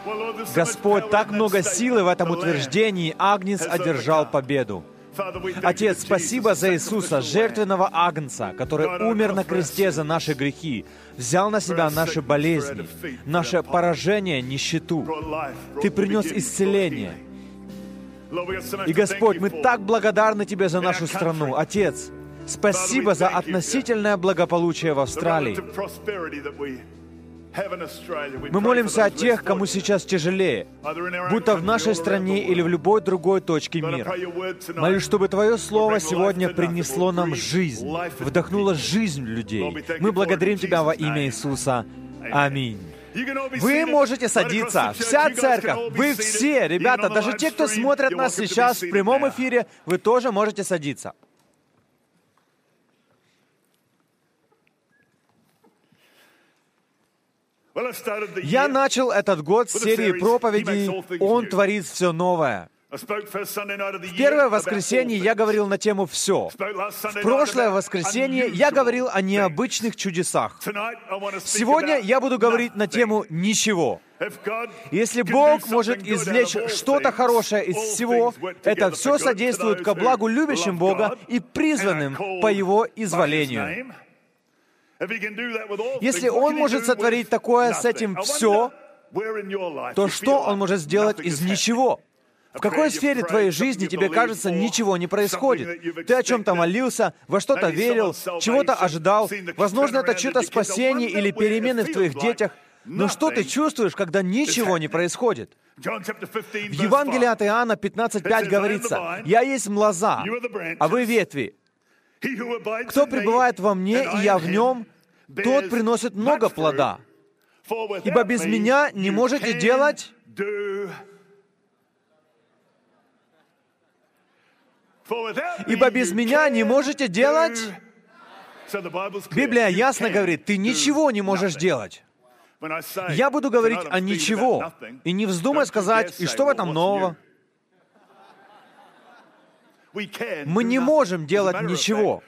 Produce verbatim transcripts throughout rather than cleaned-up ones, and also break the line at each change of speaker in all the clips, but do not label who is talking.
Господь, так много силы в этом утверждении. Агнец одержал победу. Отец, спасибо за Иисуса, жертвенного Агнца, который умер на кресте за наши грехи, взял на себя наши болезни, наше поражение, нищету. Ты принес исцеление. И, Господь, мы так благодарны Тебе за нашу страну. Отец, спасибо за относительное благополучие в Австралии. Мы молимся о тех, кому сейчас тяжелее, будто в нашей стране или в любой другой точке мира. Молюсь, чтобы Твое Слово сегодня принесло нам жизнь, вдохнуло жизнь в людей. Мы благодарим Тебя во имя Иисуса. Аминь. Вы можете садиться. Вся церковь, вы все, ребята, даже те, кто смотрят нас сейчас в прямом эфире, вы тоже можете садиться. Я начал этот год с серии проповедей «Он творит все новое». В первое воскресенье я говорил на тему «Все». В прошлое воскресенье я говорил о необычных чудесах. Сегодня я буду говорить на тему «Ничего». Если Бог может извлечь что-то хорошее из всего, это все содействует ко благу любящим Бога и призванным по Его изволению. Если Он может сотворить такое с этим все, то что Он может сделать из ничего? В какой сфере твоей жизни тебе кажется, ничего не происходит? Ты о чем-то молился, во что-то верил, чего-то ожидал. Возможно, это чье-то спасение или перемены в твоих детях. Но что ты чувствуешь, когда ничего не происходит? В Евангелии от Иоанна пятнадцать пять говорится: «Я есть лоза, а вы ветви. Кто пребывает во мне, и я в нем, тот приносит много плода. Ибо без меня не можете делать...» «Ибо без меня не можете делать...» Библия ясно говорит, ты ничего не можешь делать. Я буду говорить о ничего. И не вздумай сказать, и что в этом нового? Мы не можем делать ничего.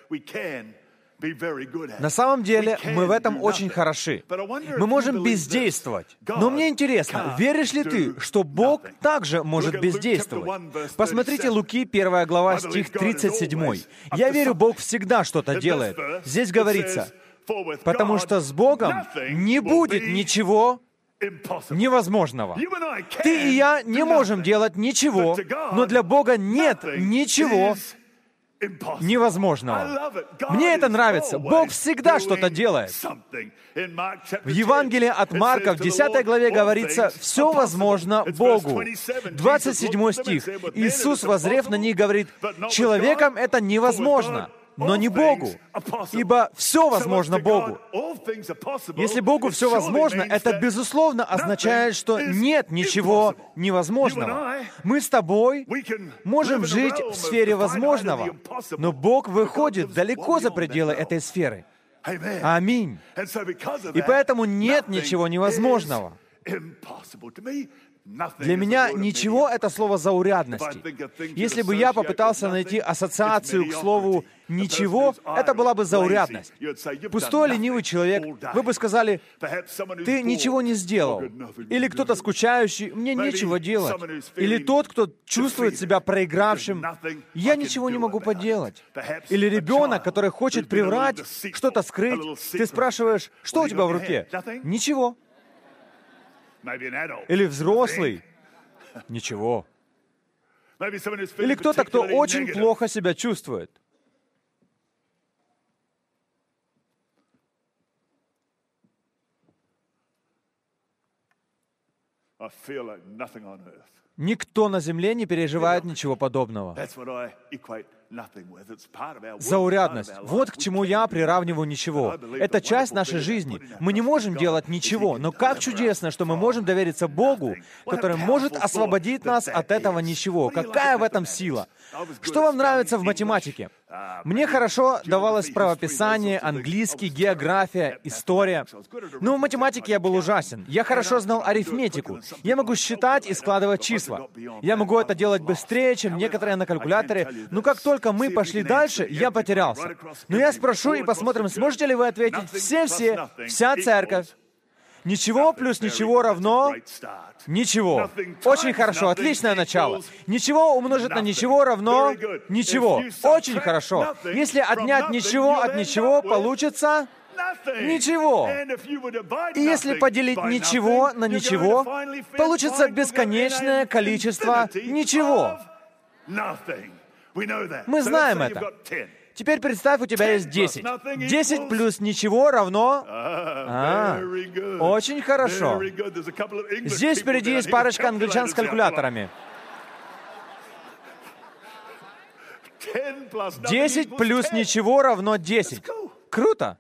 На самом деле, мы в этом очень хороши. Мы можем бездействовать. Но мне интересно, веришь ли ты, что Бог также может бездействовать? Посмотрите Луки, первая глава, стих тридцать семь. «Я верю, Бог всегда что-то делает». Здесь говорится, потому что с Богом не будет ничего невозможного. Ты и я не можем делать ничего, но для Бога нет ничего невозможного. Мне это нравится. Бог всегда что-то делает. В Евангелии от Марка в десятой главе говорится, «Все возможно Богу». двадцать седьмой стих. Иисус, воззрев на них, говорит, «Человеком это невозможно, но не Богу, ибо все возможно Богу». Если Богу все возможно, это, безусловно, означает, что нет ничего невозможного. Мы с тобой можем жить в сфере возможного, но Бог выходит далеко за пределы этой сферы. Аминь. И поэтому нет ничего невозможного. Для меня ничего — это слово заурядности. Если бы я попытался найти ассоциацию к слову «ничего», это была бы заурядность. Пустой, ленивый человек, вы бы сказали, «Ты ничего не сделал». Или кто-то скучающий, «Мне нечего делать». Или тот, кто чувствует себя проигравшим, «Я ничего не могу поделать». Или ребенок, который хочет приврать, что-то скрыть. Ты спрашиваешь, «Что у тебя в руке?» «Ничего». Или взрослый. Ничего. Или кто-то, кто очень плохо себя чувствует. Никто на земле не переживает ничего подобного. Заурядность. Вот к чему я приравниваю ничего. Это часть нашей жизни. Мы не можем делать ничего, но как чудесно, что мы можем довериться Богу, который может освободить нас от этого ничего. Какая в этом сила? Что вам нравится в математике? Мне хорошо давалось правописание, английский, география, история. Но в математике я был ужасен. Я хорошо знал арифметику. Я могу считать и складывать числа. Я могу это делать быстрее, чем некоторые на калькуляторе. Но как только мы пошли дальше, я потерялся. Но я спрошу и посмотрим, сможете ли вы ответить все-все, вся церковь. Ничего плюс ничего равно ничего. Очень хорошо, отличное начало. Ничего умножить на ничего равно ничего. Очень хорошо. Если отнять ничего от ничего, получится ничего. И если поделить ничего на ничего, получится бесконечное количество ничего. Мы знаем это. Теперь представь, у тебя есть десять. десять плюс ничего равно... А, очень хорошо. Здесь впереди есть парочка англичан с калькуляторами. десять плюс ничего равно десять. Круто.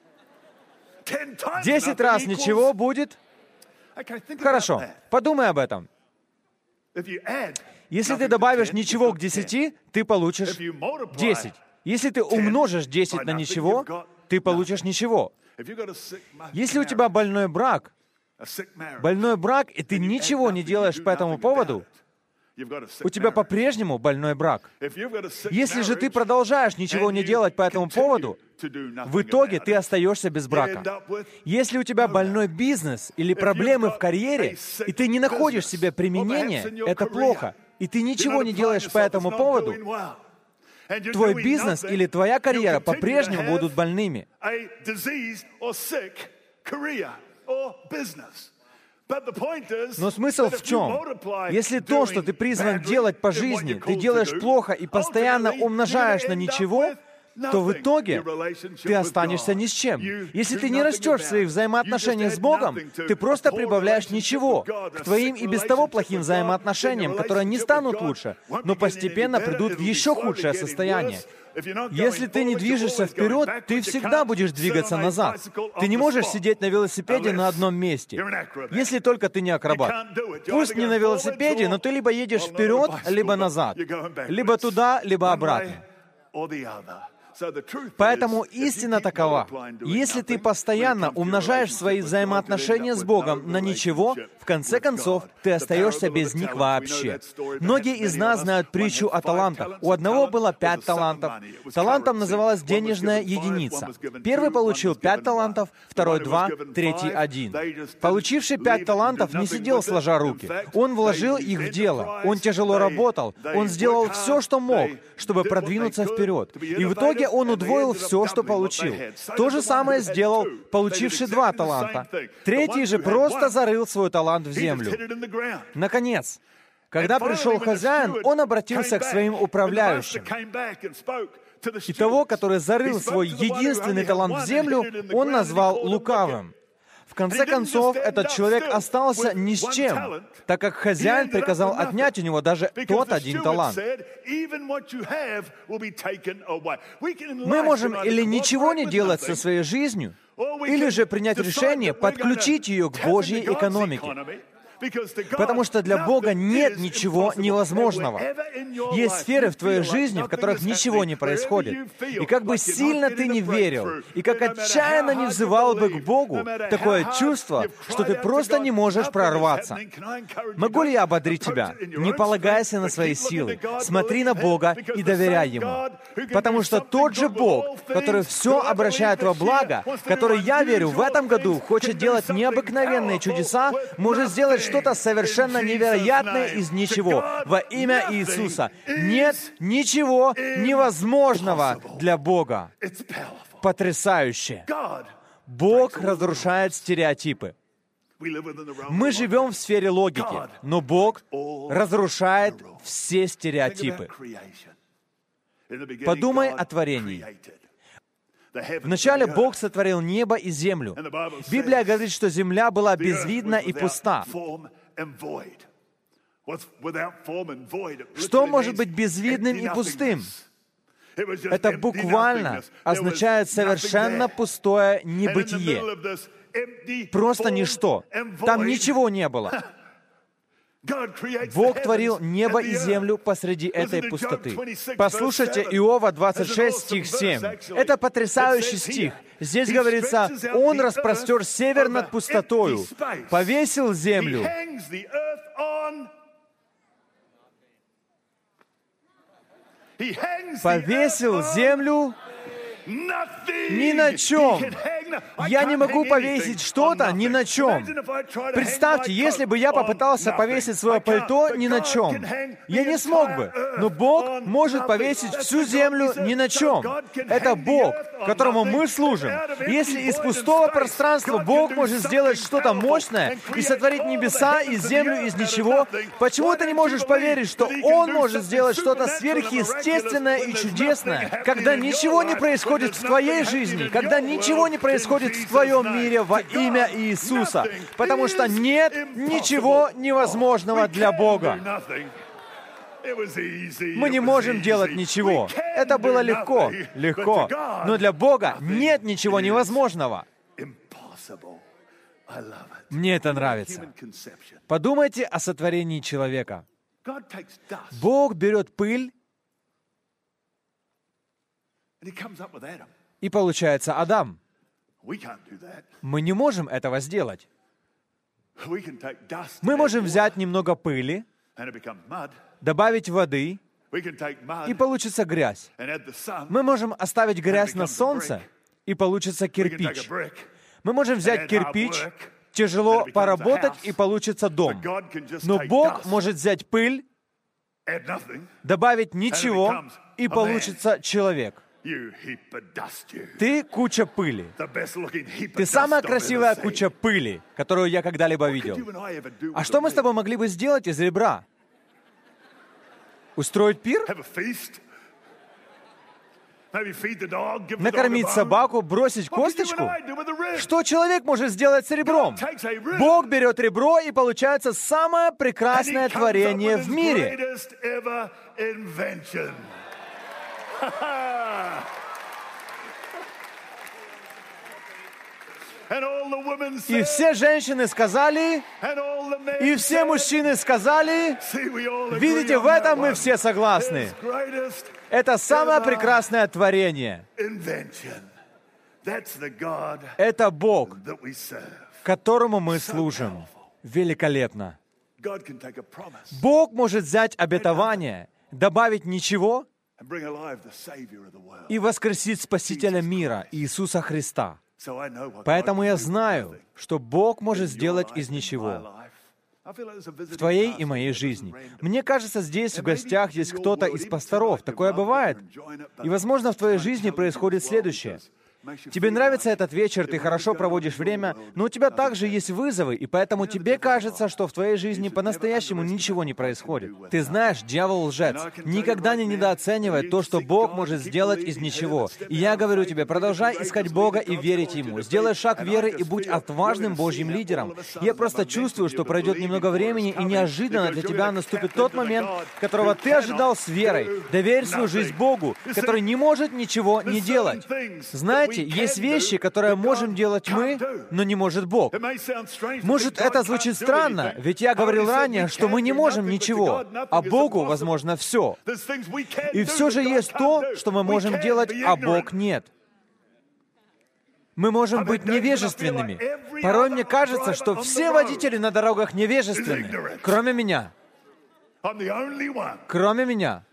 десять раз ничего будет... Хорошо, подумай об этом. Если ты добавишь ничего к десяти, ты получишь десять. Если ты умножишь десять на ничего, ты получишь ничего. Если у тебя больной брак, больной брак, и ты ничего не делаешь по этому поводу, у тебя по-прежнему больной брак. Если же ты продолжаешь ничего не делать по этому поводу, в итоге ты остаешься без брака. Если у тебя больной бизнес или проблемы в карьере, и ты не находишь себе применения, это плохо, и ты ничего не делаешь по этому поводу, твой бизнес или твоя карьера по-прежнему будут больными. Но смысл в чем? Если то, что ты призван делать по жизни, ты делаешь плохо и постоянно умножаешь на ничего, то в итоге ты останешься ни с чем. Если ты не растешь в своих взаимоотношениях с Богом, ты просто прибавляешь ничего к твоим и без того плохим взаимоотношениям, которые не станут лучше, но постепенно придут в еще худшее состояние. Если ты не движешься вперед, ты всегда будешь двигаться назад. Ты не можешь сидеть на велосипеде на одном месте, если только ты не акробат. Пусть не на велосипеде, но ты либо едешь вперед, либо назад, либо туда, либо обратно. Поэтому истина такова. Если ты постоянно умножаешь свои взаимоотношения с Богом на ничего, в конце концов, ты остаешься без них вообще. Многие из нас знают притчу о талантах. У одного было пять талантов. Талантом называлась денежная единица. Первый получил пять талантов, второй два, третий один. Получивший пять талантов не сидел сложа руки. Он вложил их в дело. Он тяжело работал. Он сделал все, что мог, чтобы продвинуться вперед. И в итоге он удвоил все, что получил. То же самое сделал получивший два таланта. Третий же просто зарыл свой талант в землю. Наконец, когда пришел хозяин, он обратился к своим управляющим. И того, который зарыл свой единственный талант в землю, он назвал лукавым. В конце концов, этот человек остался ни с чем, так как хозяин приказал отнять у него даже тот один талант. Мы можем или ничего не делать со своей жизнью, или же принять решение подключить ее к Божьей экономике. Потому что для Бога нет ничего невозможного. Есть сферы в твоей жизни, в которых ничего не происходит. И как бы сильно ты не верил, и как отчаянно не взывал бы к Богу, такое чувство, что ты просто не можешь прорваться. Могу ли я ободрить тебя? Не полагайся на свои силы. Смотри на Бога и доверяй Ему. Потому что тот же Бог, который все обращает во благо, который, я верю, в этом году хочет делать необыкновенные чудеса, может сделать что-то совершенно невероятное из ничего. Во имя Иисуса. Нет ничего невозможного для Бога. Потрясающе. Бог разрушает стереотипы. Мы живем в сфере логики, но Бог разрушает все стереотипы. Подумай о творении. Вначале Бог сотворил небо и землю. Библия говорит, что земля была безвидна и пуста. Что может быть безвидным и пустым? Это буквально означает совершенно пустое небытие. Просто ничто. Там ничего не было. Бог творил небо и землю посреди этой пустоты. Послушайте Иова двадцать шесть, стих семь. Это потрясающий стих. Здесь говорится, «Он распростер север над пустотою, повесил землю». Повесил землю ни на чем. Я не могу повесить что-то ни на чем. Представьте, если бы я попытался повесить свое пальто ни на чем, я не смог бы. Но Бог может повесить всю землю ни на чем. Это Бог, которому мы служим. Если из пустого пространства Бог может сделать что-то мощное и сотворить небеса и землю из ничего, почему ты не можешь поверить, что Он может сделать что-то сверхъестественное и чудесное, когда ничего не происходит в твоей жизни, когда ничего не происходит в твоем мире во имя Иисуса, потому что нет ничего невозможного для Бога. Мы не можем делать ничего. Это было легко, легко. Но для Бога нет ничего невозможного. Мне это нравится. Подумайте о сотворении человека. Бог берет пыль, и получается Адам. Мы не можем этого сделать. Мы можем взять немного пыли, добавить воды, и получится грязь. Мы можем оставить грязь на солнце, и получится кирпич. Мы можем взять кирпич, тяжело поработать, и получится дом. Но Бог может взять пыль, добавить ничего, и получится человек. Ты куча пыли. Ты самая красивая куча пыли, которую я когда-либо видел. А что мы с тобой могли бы сделать из ребра? Устроить пир? Накормить собаку, бросить косточку? Что человек может сделать с ребром? Бог берет ребро, и получается самое прекрасное творение в мире. И все женщины сказали, и все мужчины сказали, видите, в этом мы все согласны. Это самое прекрасное творение. Это Бог, которому мы служим. Великолепно. Бог может взять обетование, добавить ничего и воскресить Спасителя мира, Иисуса Христа. Поэтому я знаю, что Бог может сделать из ничего в твоей и моей жизни. Мне кажется, здесь в гостях есть кто-то из пасторов. Такое бывает. И, возможно, в твоей жизни происходит следующее. Тебе нравится этот вечер, ты хорошо проводишь время, но у тебя также есть вызовы, и поэтому тебе кажется, что в твоей жизни по-настоящему ничего не происходит. Ты знаешь, дьявол лжец. Никогда не недооценивай то, что Бог может сделать из ничего. И я говорю тебе, продолжай искать Бога и верить Ему. Сделай шаг веры и будь отважным Божьим лидером. Я просто чувствую, что пройдет немного времени, и неожиданно для тебя наступит тот момент, которого ты ожидал с верой. Доверь свою жизнь Богу, который не может ничего не делать. Знаете, есть вещи, которые можем делать мы, но не может Бог. Может, это звучит странно, ведь я говорил ранее, что мы не можем ничего, а Богу возможно все. И все же есть то, что мы можем делать, а Бог нет. Мы можем быть невежественными. Порой мне кажется, что все водители на дорогах невежественны, кроме меня. Кроме меня.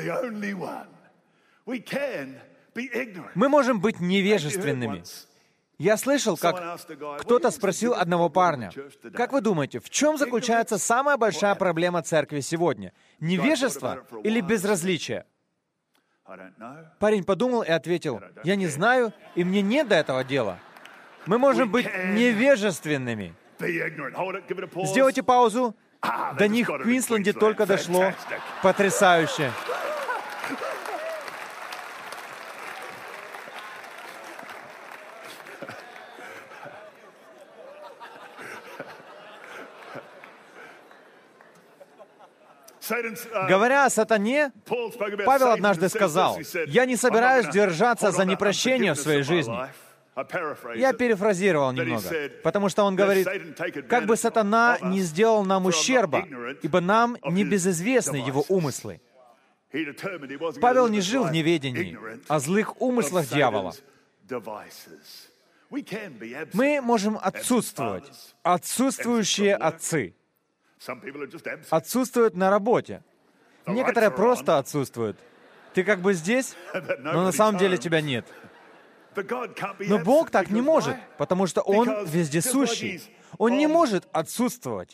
Мы можем быть невежественными. Я слышал, как кто-то спросил одного парня, «Как вы думаете, в чем заключается самая большая проблема церкви сегодня? Невежество или безразличие?» Парень подумал и ответил, «Я не знаю, и мне нет до этого дела. Мы можем быть невежественными». Сделайте паузу. До них в Квинсленде только дошло. Потрясающе. Говоря о сатане, Павел однажды сказал, «Я не собираюсь держаться за непрощение в своей жизни». Я перефразировал немного, потому что он говорит, как бы сатана не сделал нам ущерба, ибо нам не безызвестны его умыслы. Павел не жил в неведении о злых умыслах дьявола. Мы можем отсутствовать, отсутствующие отцы. Отсутствуют на работе. Некоторые просто отсутствуют. Ты как бы здесь, но на самом деле тебя нет. Но Бог так не может, потому что Он вездесущий. Он не может отсутствовать.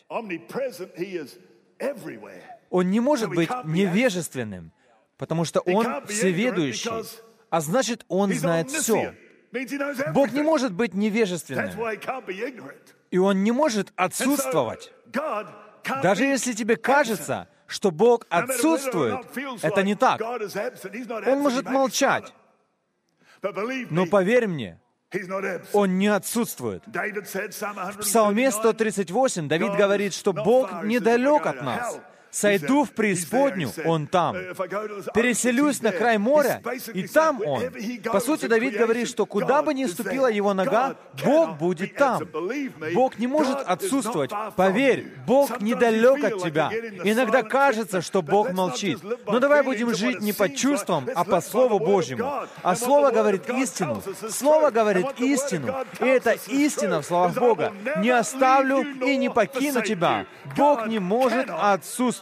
Он не может быть невежественным, потому что Он всеведущий, а значит, Он знает все. Бог не может быть невежественным, и Он не может отсутствовать. Даже если тебе кажется, что Бог отсутствует, это не так. Он может молчать. Но поверь мне, Он не отсутствует. В Псалме сто тридцать восемь Давид говорит, что Бог недалек от нас. «Сойду в преисподнюю, Он там. Переселюсь на край моря, и там Он». По сути, Давид говорит, что куда бы ни ступила его нога, Бог будет там. Бог не может отсутствовать. Поверь, Бог недалек от тебя. Иногда кажется, что Бог молчит. Но давай будем жить не по чувствам, а по Слову Божьему. А Слово говорит истину. Слово говорит истину. И это истина в словах Бога. «Не оставлю и не покину тебя». Бог не может отсутствовать.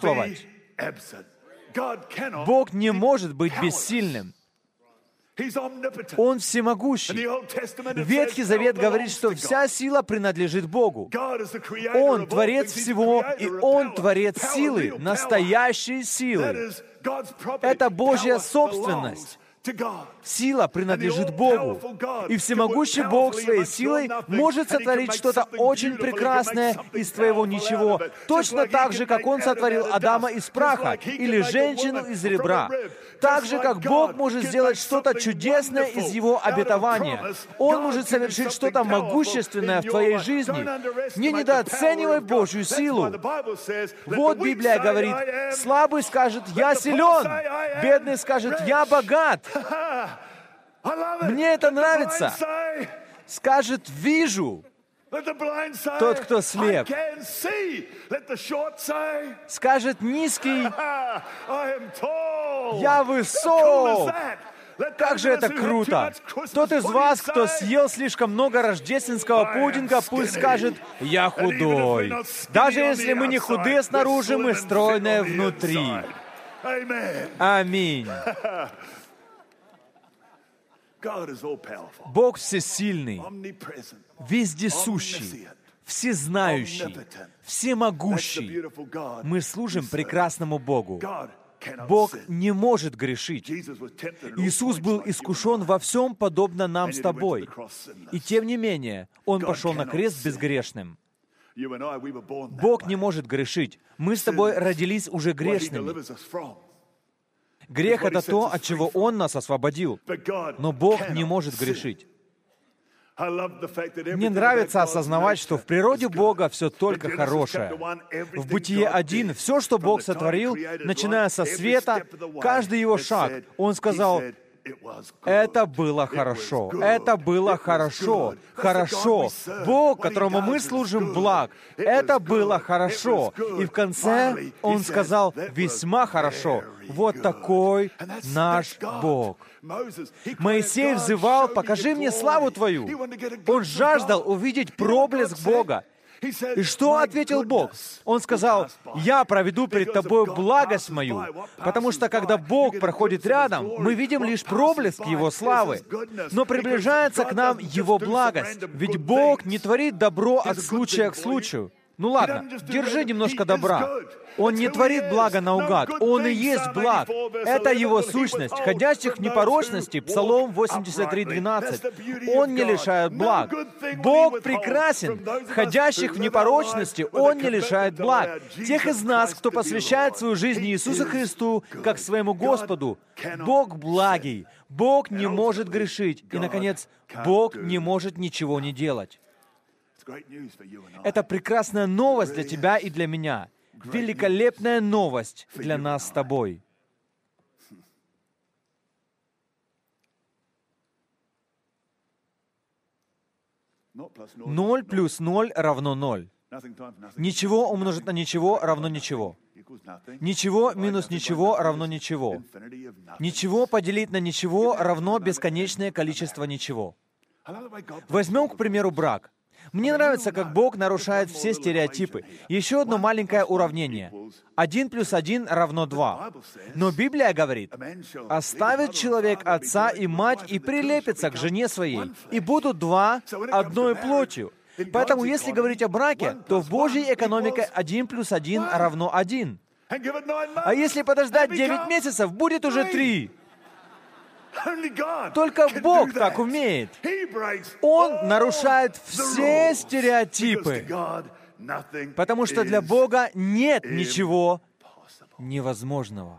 Бог не может быть бессильным. Он всемогущий. Ветхий Завет говорит, что вся сила принадлежит Богу. Он творец всего, и Он творец силы, настоящей силы. Это Божья собственность. Сила принадлежит Богу. И всемогущий Бог своей силой может сотворить что-то очень прекрасное из твоего ничего, точно так же, как Он сотворил Адама из праха или женщину из ребра. Так же, как Бог может сделать что-то чудесное из Его обетования. Он может совершить что-то могущественное в твоей жизни. Не недооценивай Божью силу. Вот Библия говорит, слабый скажет, «Я силен», бедный скажет, «Я богат». Мне это нравится. Скажет, «Вижу». Тот, кто слеп. Скажет, «Низкий». «Я высок». Как же это круто! Тот из вас, кто съел слишком много рождественского пудинга, пусть скажет, «Я худой». Даже если мы не худые снаружи, мы стройные внутри. Аминь. Бог всесильный, вездесущий, всезнающий, всемогущий. Мы служим прекрасному Богу. Бог не может грешить. Иисус был искушен во всем, подобно нам с тобой. И тем не менее, Он пошел на крест безгрешным. Бог не может грешить. Мы с тобой родились уже грешными. Грех — это то, от чего Он нас освободил. Но Бог не может грешить. Мне нравится осознавать, что в природе Бога все только хорошее. В Бытие один все, что Бог сотворил, начиная со света, каждый Его шаг, Он сказал, «Это было хорошо, это было хорошо, хорошо». Бог, которому мы служим, благ. Это было хорошо. И в конце Он сказал, «Весьма хорошо». Вот такой наш Бог. Моисей взывал, «Покажи мне славу Твою». Он жаждал увидеть проблеск Бога. И что ответил Бог? Он сказал, «Я проведу перед тобой благость мою», потому что когда Бог проходит рядом, мы видим лишь проблеск Его славы, но приближается к нам Его благость, ведь Бог не творит добро от случая к случаю. Ну ладно, держи немножко добра. Он не творит благо наугад. Он и есть благ. Это Его сущность, ходящих в непорочности, Псалом восемьдесят три, двенадцать. Он не лишает благ. Бог прекрасен. Ходящих в непорочности Он не лишает благ. Тех из нас, кто посвящает свою жизнь Иисусу Христу, как своему Господу, Бог благий. Бог не может грешить. И, наконец, Бог не может ничего не делать. Это прекрасная новость для тебя и для меня. Великолепная новость для нас с тобой. Ноль плюс ноль равно ноль. Ничего умножить на ничего равно ничего. Ничего минус ничего равно ничего. Ничего поделить на ничего равно бесконечное количество ничего. Возьмем, к примеру, брак. Мне нравится, как Бог нарушает все стереотипы. Еще одно маленькое уравнение. Один плюс один равно два. Но Библия говорит, «Оставит человек отца и мать и прилепится к жене своей, и будут два одной плотью». Поэтому, если говорить о браке, то в Божьей экономике один плюс один равно один. А если подождать девять месяцев, будет уже три. Только Бог так умеет. Он нарушает все стереотипы, потому что для Бога нет ничего невозможного.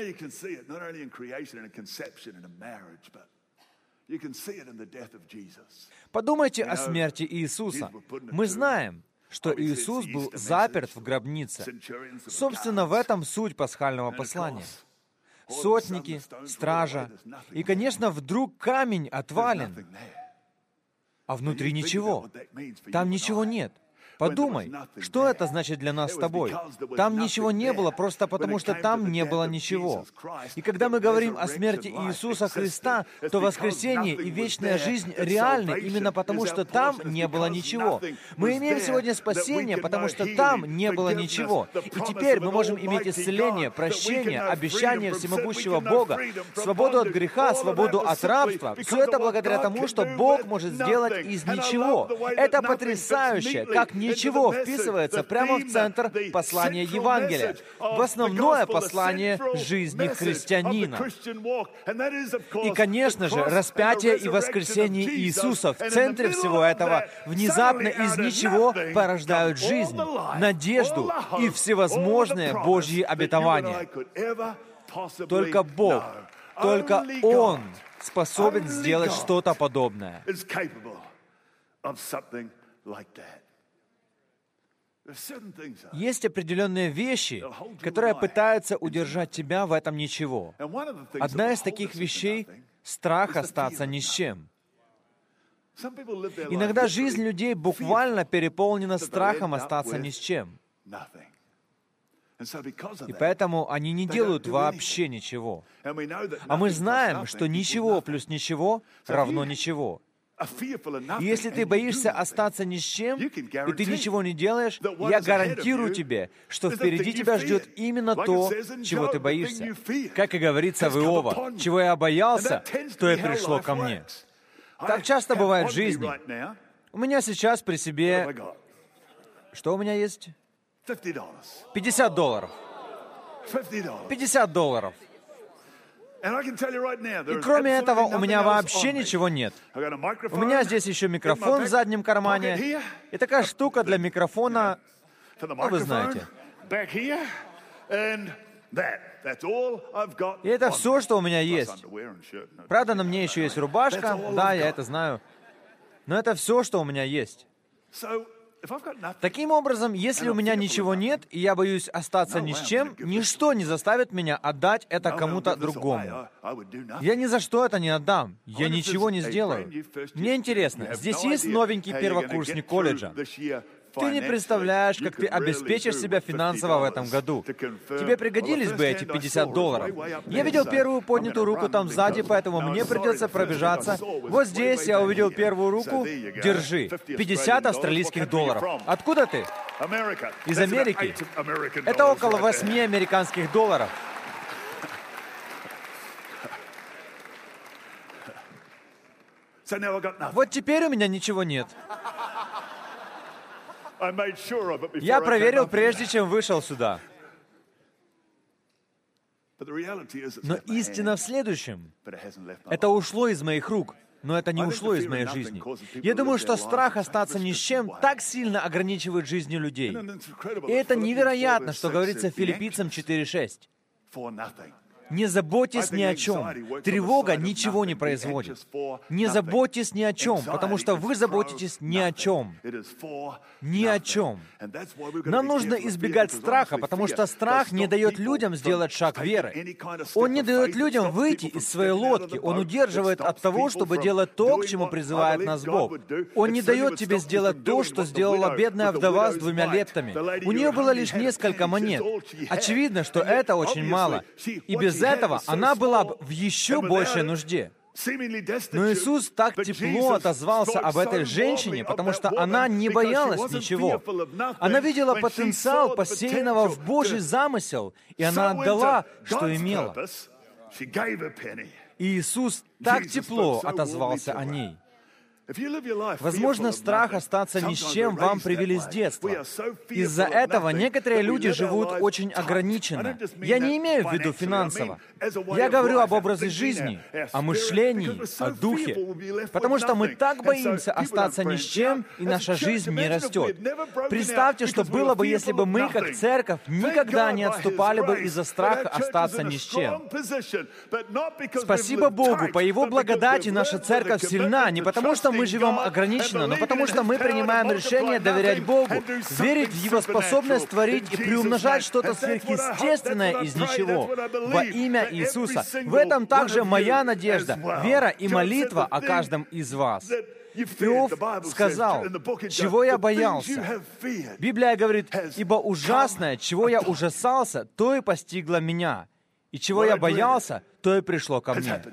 Подумайте о смерти Иисуса. Мы знаем, что Иисус был заперт в гробнице. Собственно, в этом суть пасхального послания. Сотники, стража, и, конечно, вдруг камень отвален, а внутри ничего. Там ничего нет. Подумай, что это значит для нас с тобой? Там ничего не было просто потому, что там не было ничего. И когда мы говорим о смерти Иисуса Христа, то воскресение и вечная жизнь реальны именно потому, что там не было ничего. Мы имеем сегодня спасение, потому что там не было ничего. И теперь мы можем иметь исцеление, прощение, обещание всемогущего Бога, свободу от греха, свободу от рабства. Все это благодаря тому, что Бог может сделать из ничего. Это потрясающе, как не Ничего вписывается прямо в центр послания Евангелия, в основное послание жизни христианина. И, конечно же, распятие и воскресение Иисуса в центре всего этого внезапно из ничего порождают жизнь, надежду и всевозможные Божьи обетования. Только Бог, только Он способен сделать что-то подобное. Есть определенные вещи, которые пытаются удержать тебя в этом ничего. Одна из таких вещей — страх остаться ни с чем. Иногда жизнь людей буквально переполнена страхом остаться ни с чем. И поэтому они не делают вообще ничего. А мы знаем, что ничего плюс ничего равно ничего. И если ты боишься остаться ни с чем, и ты ничего не делаешь, я гарантирую тебе, что впереди тебя ждет именно то, чего ты боишься. Как и говорится в Иова, «Чего я боялся, то и пришло ко мне». Так часто бывает в жизни. У меня сейчас при себе... Что у меня есть? пятьдесят долларов. пятьдесят долларов. И кроме этого, у меня вообще ничего нет. У меня здесь еще микрофон в заднем кармане. И такая штука для микрофона, ну, вы знаете. И это все, что у меня есть. Правда, на мне еще есть рубашка. Да, я это знаю. Но это все, что у меня есть. Таким образом, если у меня ничего нет, и я боюсь остаться ни с чем, ничто не заставит меня отдать это кому-то другому. Я ни за что это не отдам. Я ничего не сделаю. Мне интересно, здесь есть новенький первокурсник колледжа. Ты не представляешь, как ты обеспечишь себя финансово в этом году. Тебе пригодились бы эти пятьдесят долларов. Я видел первую поднятую руку там сзади, поэтому мне придется пробежаться. Вот здесь я увидел первую руку. Держи. пятьдесят австралийских долларов. Откуда ты? Из Америки. Это около восьми американских долларов. Вот теперь у меня ничего нет. Я проверил, прежде чем вышел сюда. Но истина в следующем. Это ушло из моих рук, но это не ушло из моей жизни. Я думаю, что страх остаться ни с чем так сильно ограничивает жизни людей. И это невероятно, что говорится в Филиппийцам четыре шесть. Не заботьтесь ни о чем. Тревога ничего не производит. Не заботьтесь ни о чем, потому что вы заботитесь ни о чем. Ни о чем. Нам нужно избегать страха, потому что страх не дает людям сделать шаг веры. Он не дает людям выйти из своей лодки. Он удерживает от того, чтобы делать то, к чему призывает нас Бог. Он не дает тебе сделать то, что сделала бедная вдова с двумя лептами. У нее было лишь несколько монет. Очевидно, что это очень мало. И без этого она была бы в еще большей нужде. Но Иисус так тепло отозвался об этой женщине, потому что она не боялась ничего. Она видела потенциал, посеянного в Божий замысел, и она отдала, что имела. И Иисус так тепло отозвался о ней. Возможно, страх остаться ни с чем вам привели с детства. Из-за этого некоторые люди живут очень ограниченно. Я не имею в виду финансово. Я говорю об образе жизни, о мышлении, о духе. Потому что мы так боимся остаться ни с чем, и наша жизнь не растет. Представьте, что было бы, если бы мы, как церковь, никогда не отступали бы из-за страха остаться ни с чем. Спасибо Богу, по Его благодати наша церковь сильна, не потому что мы живем ограниченно, но потому что мы принимаем решение доверять Богу, верить в Его способность творить и приумножать что-то сверхъестественное из ничего во имя Иисуса. В этом также моя надежда, вера и молитва о каждом из вас. Иов сказал, чего я боялся. Библия говорит, ибо ужасное, чего я ужасался, то и постигло меня. И чего я боялся, то и пришло ко мне.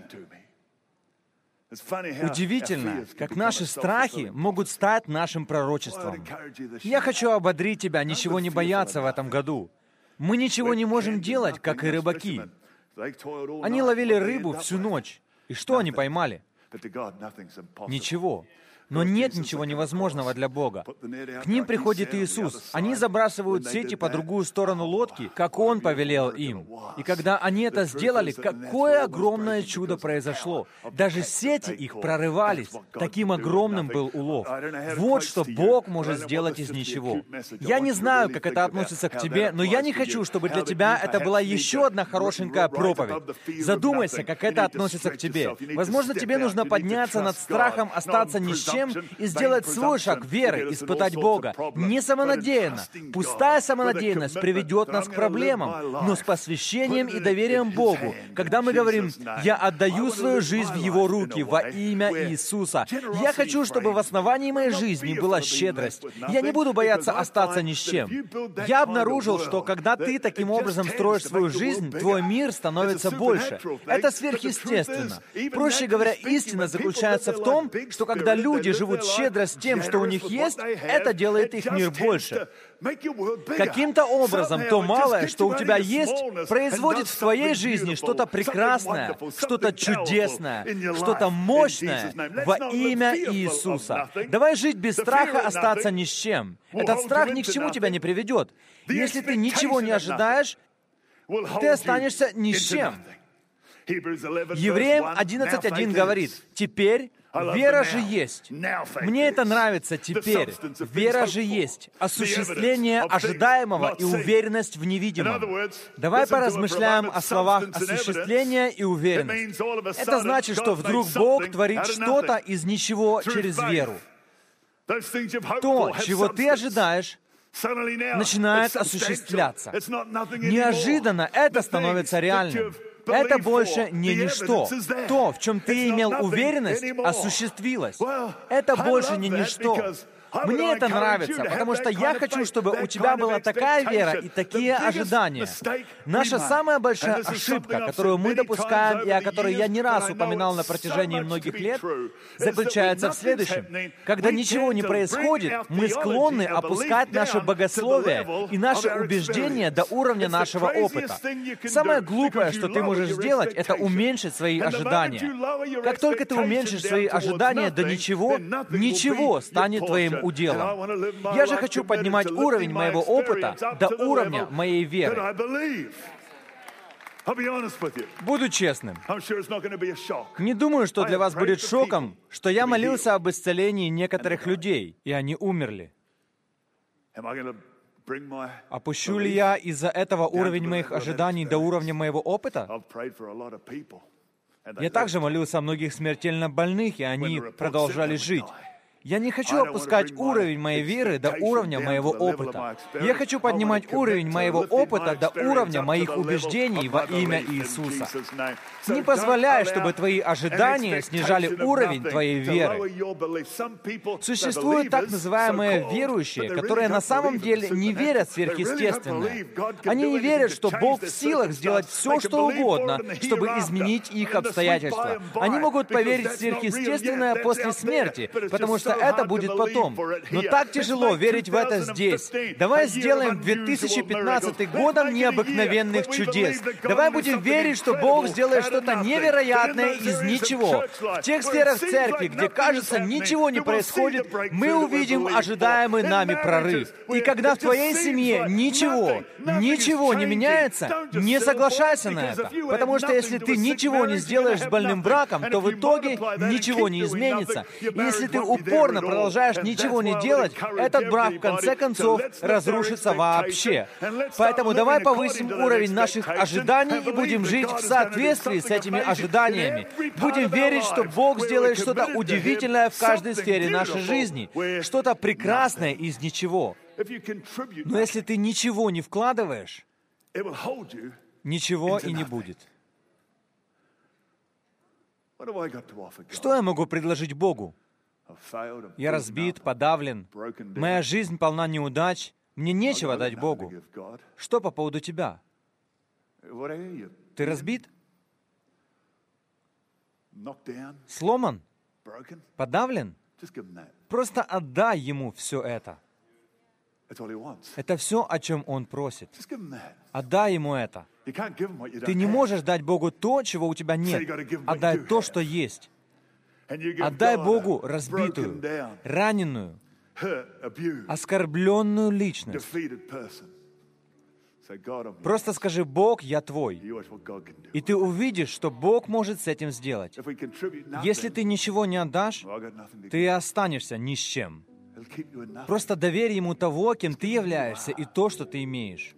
Удивительно, как наши страхи могут стать нашим пророчеством. Я хочу ободрить тебя, ничего не бояться в этом году. Мы ничего не можем делать, как и рыбаки. Они ловили рыбу всю ночь. И что они поймали? Ничего. Но нет ничего невозможного для Бога. К ним приходит Иисус. Они забрасывают сети по другую сторону лодки, как Он повелел им. И когда они это сделали, какое огромное чудо произошло. Даже сети их прорывались. Таким огромным был улов. Вот что Бог может сделать из ничего. Я не знаю, как это относится к тебе, но я не хочу, чтобы для тебя это была еще одна хорошенькая проповедь. Задумайся, как это относится к тебе. Возможно, тебе нужно подняться над страхом остаться ни с чем, и сделать свой шаг веры, испытать Бога. Не самонадеянно. Пустая самонадеянность приведет нас к проблемам, но с посвящением и доверием Богу. Когда мы говорим, «Я отдаю свою жизнь в Его руки во имя Иисуса», я хочу, чтобы в основании моей жизни была щедрость. Я не буду бояться остаться ни с чем. Я обнаружил, что когда ты таким образом строишь свою жизнь, твой мир становится больше. Это сверхъестественно. Проще говоря, истина заключается в том, что когда люди живут щедро с тем, что у них есть, это делает их мир больше. Каким-то образом то малое, что у тебя есть, производит в твоей жизни что-то прекрасное, что-то чудесное, что-то мощное во имя Иисуса. Давай жить без страха остаться ни с чем. Этот страх ни к чему тебя не приведет. Если ты ничего не ожидаешь, ты останешься ни с чем. Евреям одиннадцать один говорит, «Теперь вера же есть». Мне это нравится теперь. Вера же есть. Осуществление ожидаемого и уверенность в невидимом. Давай поразмышляем о словах «осуществление» и «уверенность». Это значит, что вдруг Бог творит что-то из ничего через веру. То, чего ты ожидаешь, начинает осуществляться. Неожиданно это становится реальным. Это больше не ничто. То, в чем ты имел уверенность, осуществилось. Это больше не ничто. Мне это нравится, потому что я хочу, чтобы у тебя была такая вера и такие ожидания. Наша самая большая ошибка, которую мы допускаем, и о которой я не раз упоминал на протяжении многих лет, заключается в следующем. Когда ничего не происходит, мы склонны опускать наше богословие и наши убеждения до уровня нашего опыта. Самое глупое, что ты можешь сделать, это уменьшить свои ожидания. Как только ты уменьшишь свои ожидания до ничего, ничего станет твоим уделом. Я же хочу поднимать уровень моего опыта до уровня моей веры. Буду честным. Не думаю, что для вас будет шоком, что я молился об исцелении некоторых людей, и они умерли. Опущу ли я из-за этого уровень моих ожиданий до уровня моего опыта? Я также молился о многих смертельно больных, и они продолжали жить. Я не хочу опускать уровень моей веры до уровня моего опыта. Я хочу поднимать уровень моего опыта до уровня моих убеждений во имя Иисуса. Не позволяй, чтобы твои ожидания снижали уровень твоей веры. Существуют так называемые верующие, которые на самом деле не верят в сверхъестественное. Они не верят, что Бог в силах сделать все, что угодно, чтобы изменить их обстоятельства. Они могут поверить в сверхъестественное после смерти, потому что это будет потом. Но так тяжело верить в это здесь. Давай сделаем две тысячи пятнадцатый годом необыкновенных чудес. Давай будем верить, что Бог сделает что-то невероятное из ничего. В тех сферах церкви, где, кажется, ничего не происходит, мы увидим ожидаемый нами прорыв. И когда в твоей семье ничего, ничего не меняется, не соглашайся на это. Потому что если ты ничего не сделаешь с больным браком, то в итоге ничего не изменится. И если ты упорно продолжаешь ничего не делать, этот брак в конце концов разрушится вообще. Поэтому давай повысим уровень наших ожиданий и будем жить в соответствии с этими ожиданиями. Будем верить, что Бог сделает что-то удивительное в каждой сфере нашей жизни, что-то прекрасное из ничего. Но если ты ничего не вкладываешь, ничего и не будет. Что я могу предложить Богу? Я разбит, подавлен. Моя жизнь полна неудач. Мне нечего дать Богу. Что по поводу тебя? Ты разбит? Сломан? Подавлен? Просто отдай Ему все это. Это все, о чем Он просит. Отдай Ему это. Ты не можешь дать Богу то, чего у тебя нет. Отдай то, что есть. Отдай Богу разбитую, раненую, оскорбленную личность. Просто скажи: «Бог, я Твой». И ты увидишь, что Бог может с этим сделать. Если ты ничего не отдашь, ты останешься ни с чем. Просто доверь Ему того, кем ты являешься, и то, что ты имеешь.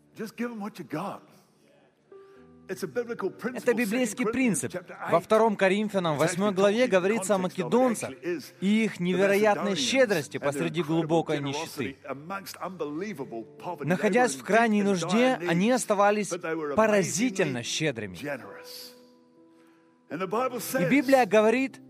Это библейский принцип. Во втором Коринфянам, восьмой главе, говорится о македонцах и их невероятной щедрости посреди глубокой нищеты. Находясь в крайней нужде, они оставались поразительно щедрыми. И Библия говорит,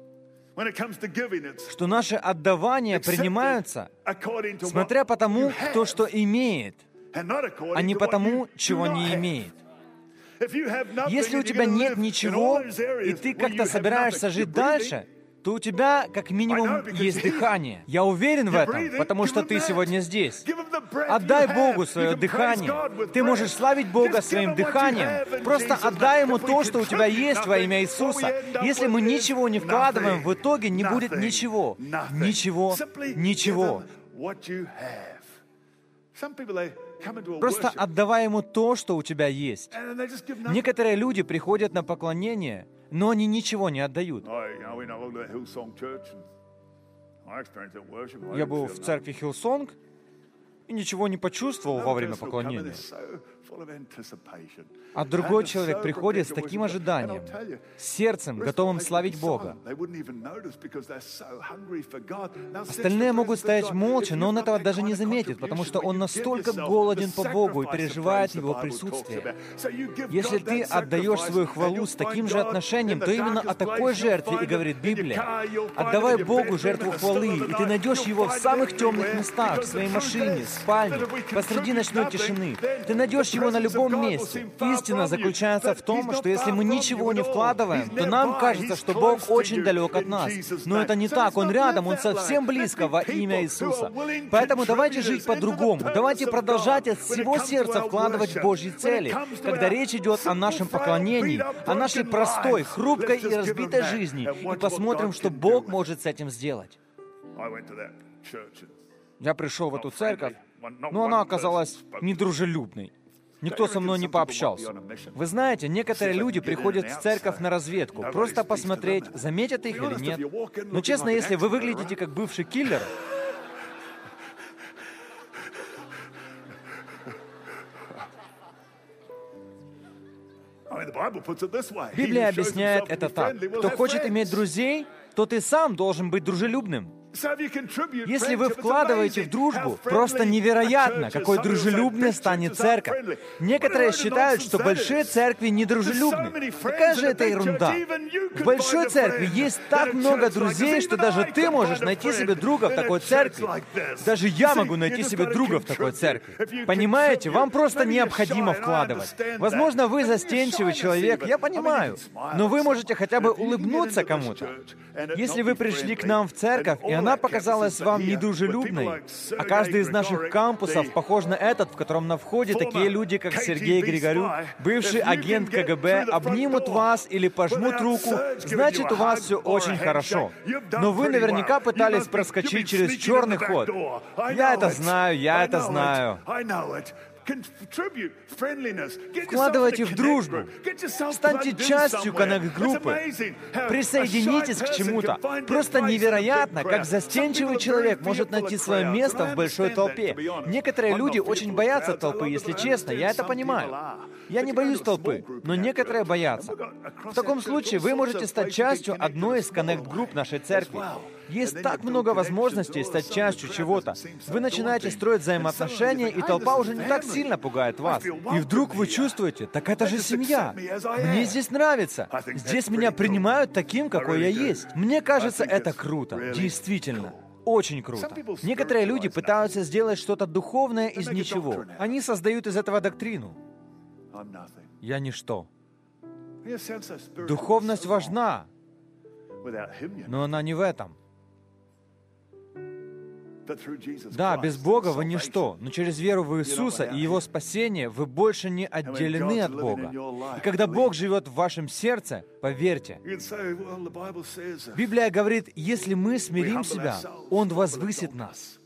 что наши отдавания принимаются, смотря по тому, кто что имеет, а не по тому, чего не имеет. Если у тебя нет ничего, и ты как-то собираешься жить дальше, то у тебя как минимум есть дыхание. Я уверен в этом, потому что ты сегодня здесь. Отдай Богу свое дыхание. Ты можешь славить Бога своим дыханием. Просто отдай Ему то, что у тебя есть во имя Иисуса. Если мы ничего не вкладываем, в итоге не будет ничего. Ничего. Ничего. Просто отдавай Ему то, что у тебя есть. Некоторые люди приходят на поклонение, но они ничего не отдают. Я был в церкви Хиллсонг и ничего не почувствовал во время поклонения. А другой человек приходит с таким ожиданием, с сердцем, готовым славить Бога. Остальные могут стоять молча, но он этого даже не заметит, потому что он настолько голоден по Богу и переживает Его присутствие. Если ты отдаешь свою хвалу с таким же отношением, то именно о такой жертве и говорит Библия. Отдавай Богу жертву хвалы, и ты найдешь Его в самых темных местах, в своей машине, в спальне, посреди ночной тишины. Ты найдешь Его на любом месте. Истина заключается в том, что если мы ничего не вкладываем, то нам кажется, что Бог очень далек от нас. Но это не так. Он рядом, Он совсем близко во имя Иисуса. Поэтому давайте жить по-другому. Давайте продолжать от всего сердца вкладывать в Божьи цели, когда речь идет о нашем поклонении, о нашей простой, хрупкой и разбитой жизни, и посмотрим, что Бог может с этим сделать. Я пришел в эту церковь, но она оказалась недружелюбной. Никто со мной не пообщался. Вы знаете, некоторые люди приходят в церковь на разведку, просто посмотреть, заметят их или нет. Но честно, если вы выглядите как бывший киллер, Библия объясняет это так. Кто хочет иметь друзей, то ты сам должен быть дружелюбным. Если вы вкладываете в дружбу, просто невероятно, какой дружелюбной станет церковь. Некоторые считают, что большие церкви недружелюбны. Какая же это ерунда? В большой церкви есть так много друзей, что даже ты можешь найти себе друга в такой церкви. Даже я могу найти себе друга в такой церкви. Понимаете, вам просто необходимо вкладывать. Возможно, вы застенчивый человек, я понимаю, но вы можете хотя бы улыбнуться кому-то. Если вы пришли к нам в церковь, и она показалась вам недружелюбной, а каждый из наших кампусов похож на этот, в котором на входе такие люди, как Сергей Григорюк, бывший агент ка гэ бэ, обнимут вас или пожмут руку, значит, у вас все очень хорошо. Но вы наверняка пытались проскочить через черный ход. Я это знаю, я это знаю. Вкладывайте в дружбу. Станьте частью коннект-группы. Присоединитесь к чему-то. Просто невероятно, как застенчивый человек может найти свое место в большой толпе. Некоторые люди очень боятся толпы, если честно, я это понимаю. Я не боюсь толпы, но некоторые боятся. В таком случае вы можете стать частью одной из коннект-групп нашей церкви. Есть так много возможностей стать частью чего-то. Вы начинаете строить взаимоотношения, и толпа уже не так сильно пугает вас. И вдруг вы чувствуете, так это же семья. Мне здесь нравится. Здесь меня принимают таким, какой я есть. Мне кажется, это круто. Действительно. Очень круто. Некоторые люди пытаются сделать что-то духовное из ничего. Они создают из этого доктрину. Я ничто. Духовность важна, но она не в этом. Да, без Бога вы ничто, но через веру в Иисуса и Его спасение вы больше не отделены от Бога. И когда Бог живет в вашем сердце, поверьте, Библия говорит, если мы смирим себя, Он возвысит нас.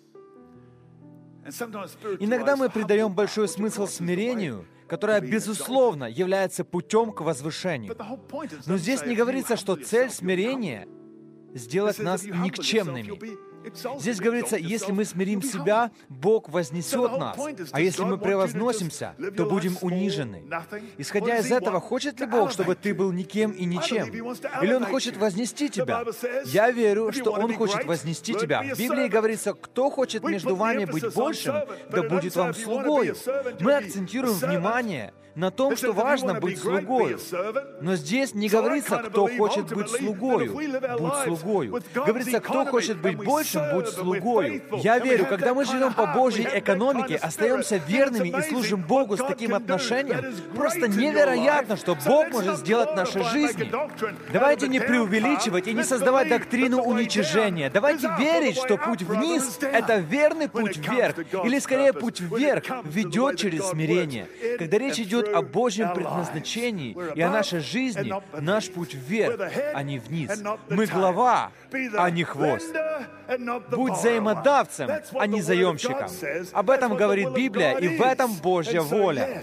Иногда мы придаем большой смысл смирению, которое, безусловно, является путем к возвышению. Но здесь не говорится, что цель смирения — сделать нас никчемными. Здесь говорится, если мы смирим себя, Бог вознесет нас. А если мы превозносимся, то будем унижены. Исходя из этого, хочет ли Бог, чтобы ты был никем и ничем? Или Он хочет вознести тебя? Я верю, что Он хочет вознести тебя. В Библии говорится, кто хочет между вами быть большим, да будет вам слугою. Мы акцентируем внимание на том, что важно быть слугою. Но здесь не говорится, кто хочет быть слугою, будь слугою. Говорится, кто хочет быть большим, будь слугою. Я верю, когда мы живем по Божьей экономике, остаемся верными и служим Богу с таким отношением, просто невероятно, что Бог может сделать в нашей жизни. Давайте не преувеличивать и не создавать доктрину уничижения. Давайте верить, что путь вниз — это верный путь вверх, или скорее путь вверх ведет через смирение. Когда речь идет о Божьем предназначении и о нашей жизни, наш путь вверх, а не вниз. Мы глава, а не хвост. Будь взаимодавцем, а не заемщиком. Об этом говорит Библия, и в этом Божья воля.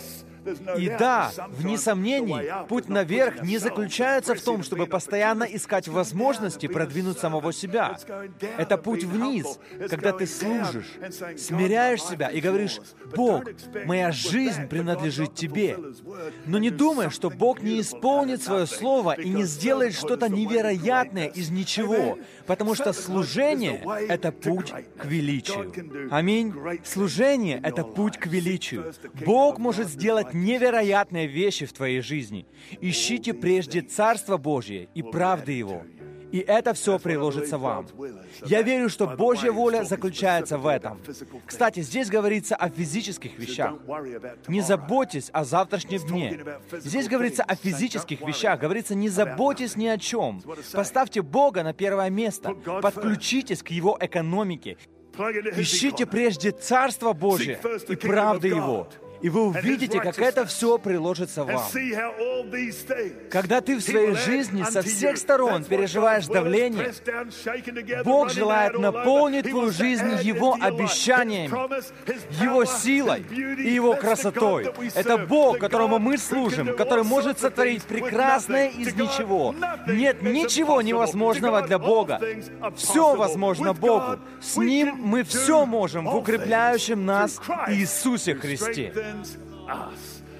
И да, вне сомнений, путь наверх не заключается в том, чтобы постоянно искать возможности продвинуть самого себя. Это путь вниз, когда ты служишь, смиряешь себя и говоришь: «Бог, моя жизнь принадлежит Тебе». Но не думай, что Бог не исполнит свое слово и не сделает что-то невероятное из ничего, потому что служение — это путь к величию. Аминь. Служение — это путь к величию. Бог может сделать невероятные вещи в твоей жизни. Ищите прежде Царство Божье и правды Его, и это все приложится вам. Я верю, что Божья воля заключается в этом. Кстати, здесь говорится о физических вещах. Не заботьтесь о завтрашнем дне. Здесь говорится о физических вещах. Говорится, не заботьтесь ни о чем. Поставьте Бога на первое место. Подключитесь к Его экономике. Ищите прежде Царство Божье и правды Его. И вы увидите, как это все приложится вам. Когда ты в своей жизни со всех сторон переживаешь давление, Бог желает наполнить твою жизнь Его обещаниями, Его силой и Его красотой. Это Бог, которому мы служим, который может сотворить прекрасное из ничего. Нет ничего невозможного для Бога. Все возможно Богу. С Ним мы все можем в укрепляющем нас Иисусе Христе.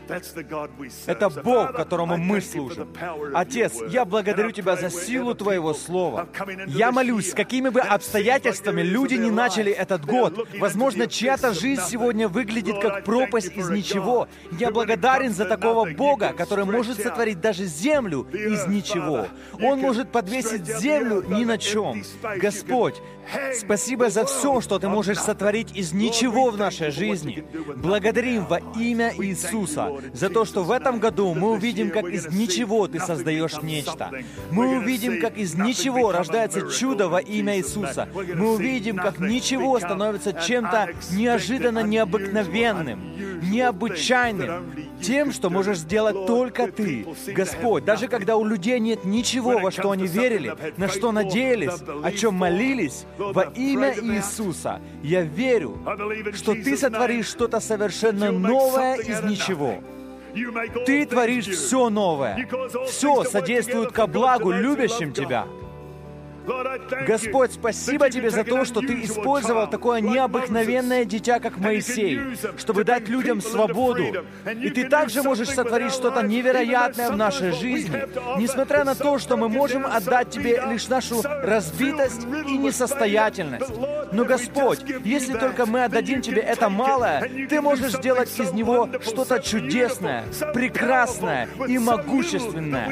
Это Бог, которому мы служим. Отец, я благодарю Тебя за силу Твоего Слова. Я молюсь, с какими бы обстоятельствами люди не начали этот год, возможно, чья-то жизнь сегодня выглядит как пропасть из ничего. Я благодарен за такого Бога, который может сотворить даже землю из ничего. Он может подвесить землю ни на чем. Господь, спасибо за все, что Ты можешь сотворить из ничего в нашей жизни. Благодарим во имя Иисуса за то, что в этом году мы увидим, как из ничего Ты создаешь нечто. Мы увидим, как из ничего рождается чудо во имя Иисуса. Мы увидим, как ничего становится чем-то неожиданно необыкновенным, необычайным, тем, что можешь сделать только Ты. Господь, даже когда у людей нет ничего, во что они верили, на что надеялись, о чем молились, во имя Иисуса, я верю, что Ты сотворишь что-то совершенно новое из ничего. Ты творишь все новое. Все содействует ко благу любящим Тебя. Господь, спасибо Тебе за то, что Ты использовал такое необыкновенное дитя, как Моисей, чтобы дать людям свободу. И Ты также можешь сотворить что-то невероятное в нашей жизни, несмотря на то, что мы можем отдать Тебе лишь нашу разбитость и несостоятельность. Но, Господь, если только мы отдадим Тебе это малое, Ты можешь сделать из него что-то чудесное, прекрасное и могущественное.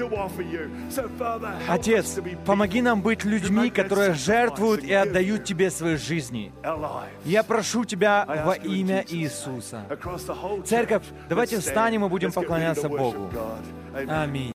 Отец, помоги нам быть людьми, которые жертвуют и отдают Тебе свои жизни. Я прошу Тебя во имя Иисуса. Церковь, давайте встанем и будем поклоняться Богу. Аминь.